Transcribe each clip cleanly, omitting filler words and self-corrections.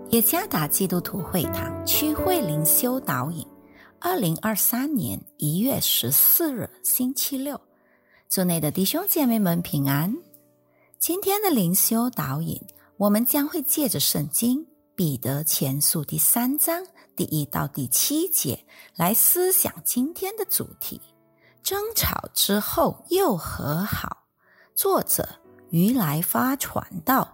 耶加达基督徒会堂区会灵修导引2023年1月14日星期六，主内的弟兄姐妹们平安。今天的灵修导引，我们将会借着圣经彼得前书第3章第1到第7节来思想今天的主题：争吵之后又和好。作者于来发传道。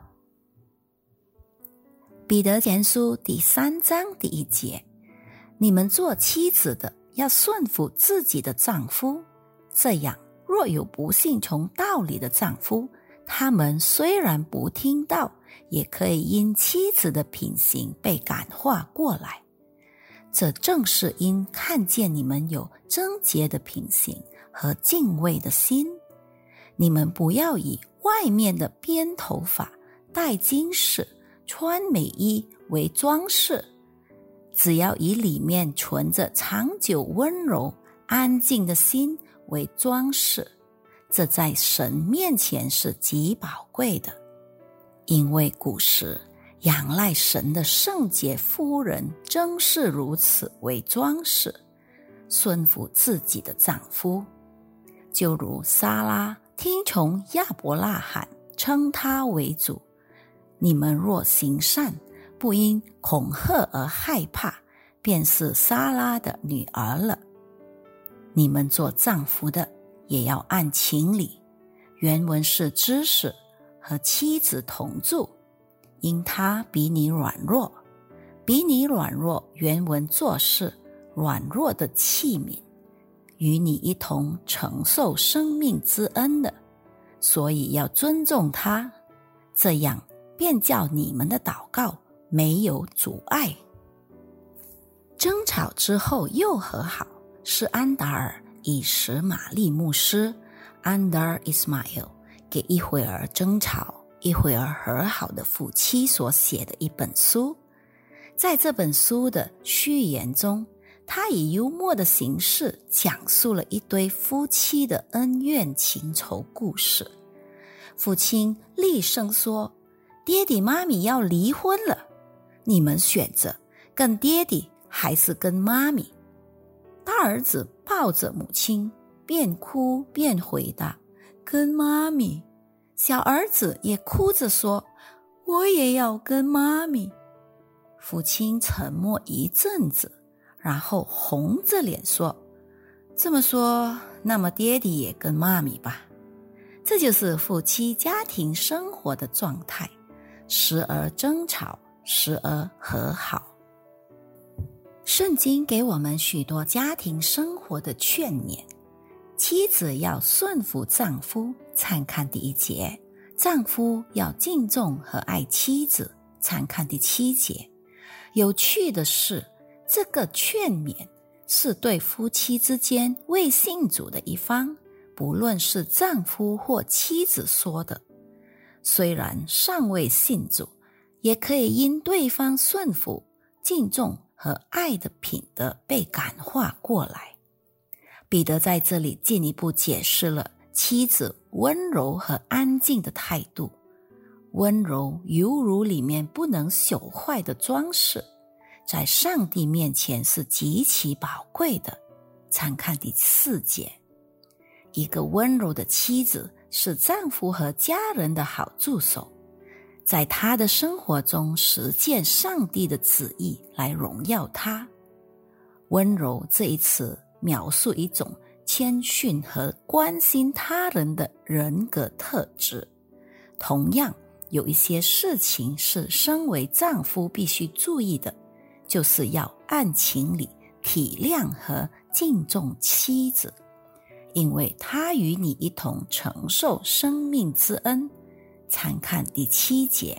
彼得前书第3章第1节，你们做妻子的要顺服自己的丈夫，这样若有不信从道理的丈夫，他们虽然不听道，也可以因妻子的品行被感化过来。这正是因看见你们有贞洁的品行和敬畏的心。你们不要以外面的编头发、戴金饰、穿美衣为装饰，只要以里面存着长久温柔安静的心为装饰，这在神面前是极宝贵的。因为古时仰赖神的圣洁妇人正是如此为装饰，顺服自己的丈夫，就如撒拉听从亚伯拉罕，称他为主。你们若行善，不因恐吓而害怕，便是撒拉的女儿了。你们做丈夫的，也要按情理。原文是知识和妻子同住，因他比你软弱。比你软弱，原文作是软弱的器皿，与你一同承受生命之恩的，所以要尊重他，这样便叫你们的祷告没有阻碍。争吵之后又和好，是安达尔·以实玛利牧师 Andar Ismail 给一会儿争吵一会儿和好的夫妻所写的一本书。在这本书的序言中，他以幽默的形式讲述了一对夫妻的恩怨情仇故事。父亲厉声说，爹地妈咪要离婚了，你们选择跟爹地还是跟妈咪？大儿子抱着母亲，边哭边回答，跟妈咪。小儿子也哭着说，我也要跟妈咪。父亲沉默一阵子，然后红着脸说，这么说，那么爹地也跟妈咪吧。这就是夫妻家庭生活的状态，时而争吵，时而和好。圣经给我们许多家庭生活的劝勉。妻子要顺服丈夫，参看第1节；丈夫要敬重和爱妻子，参看第7节。有趣的是，这个劝勉是对夫妻之间未信主的一方，不论是丈夫或妻子说的。虽然尚未信主，也可以因对方顺服、敬重和爱的品德被感化过来。彼得在这里进一步解释了妻子温柔和安静的态度。温柔犹如里面不能朽坏的装饰，在上帝面前是极其宝贵的，参看第4节。一个温柔的妻子是丈夫和家人的好助手，在他的生活中实践上帝的旨意来荣耀他。温柔这一词描述一种谦逊和关心他人的人格特质。同样，有一些事情是身为丈夫必须注意的，就是要按情理体谅和敬重妻子，因为他与你一同承受生命之恩，参看第7节。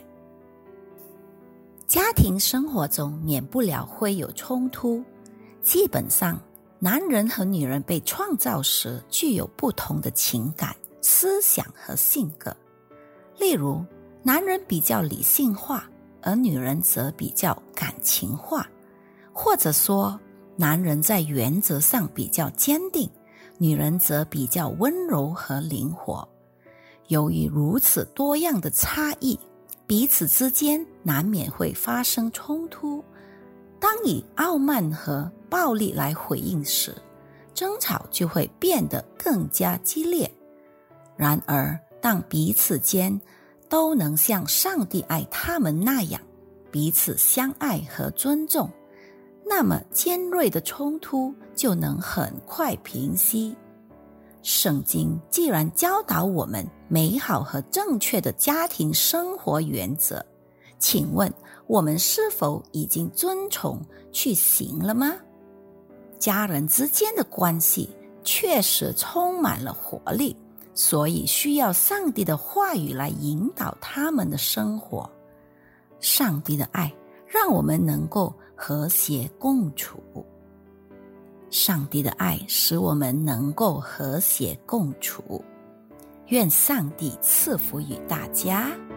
家庭生活中免不了会有冲突，基本上男人和女人被创造时具有不同的情感、思想和性格。例如，男人比较理性化，而女人则比较感情化，或者说男人在原则上比较坚定，女人则比较温柔和灵活。由于如此多样的差异， 彼此之间难免会发生冲突。当以傲慢和暴力来回应时，争吵就会变得更加激烈。然而，当彼此间都能像上帝爱他们那样彼此相爱和尊重，那么尖锐的冲突就能很快平息。圣经既然教导我们美好和正确的家庭生活原则，请问我们是否已经遵从去行了吗？家人之间的关系确实充满了活力，所以需要上帝的话语来引导他们的生活。上帝的爱让我们能够和谐共处。上帝的爱使我们能够和谐共处。愿上帝赐福于大家。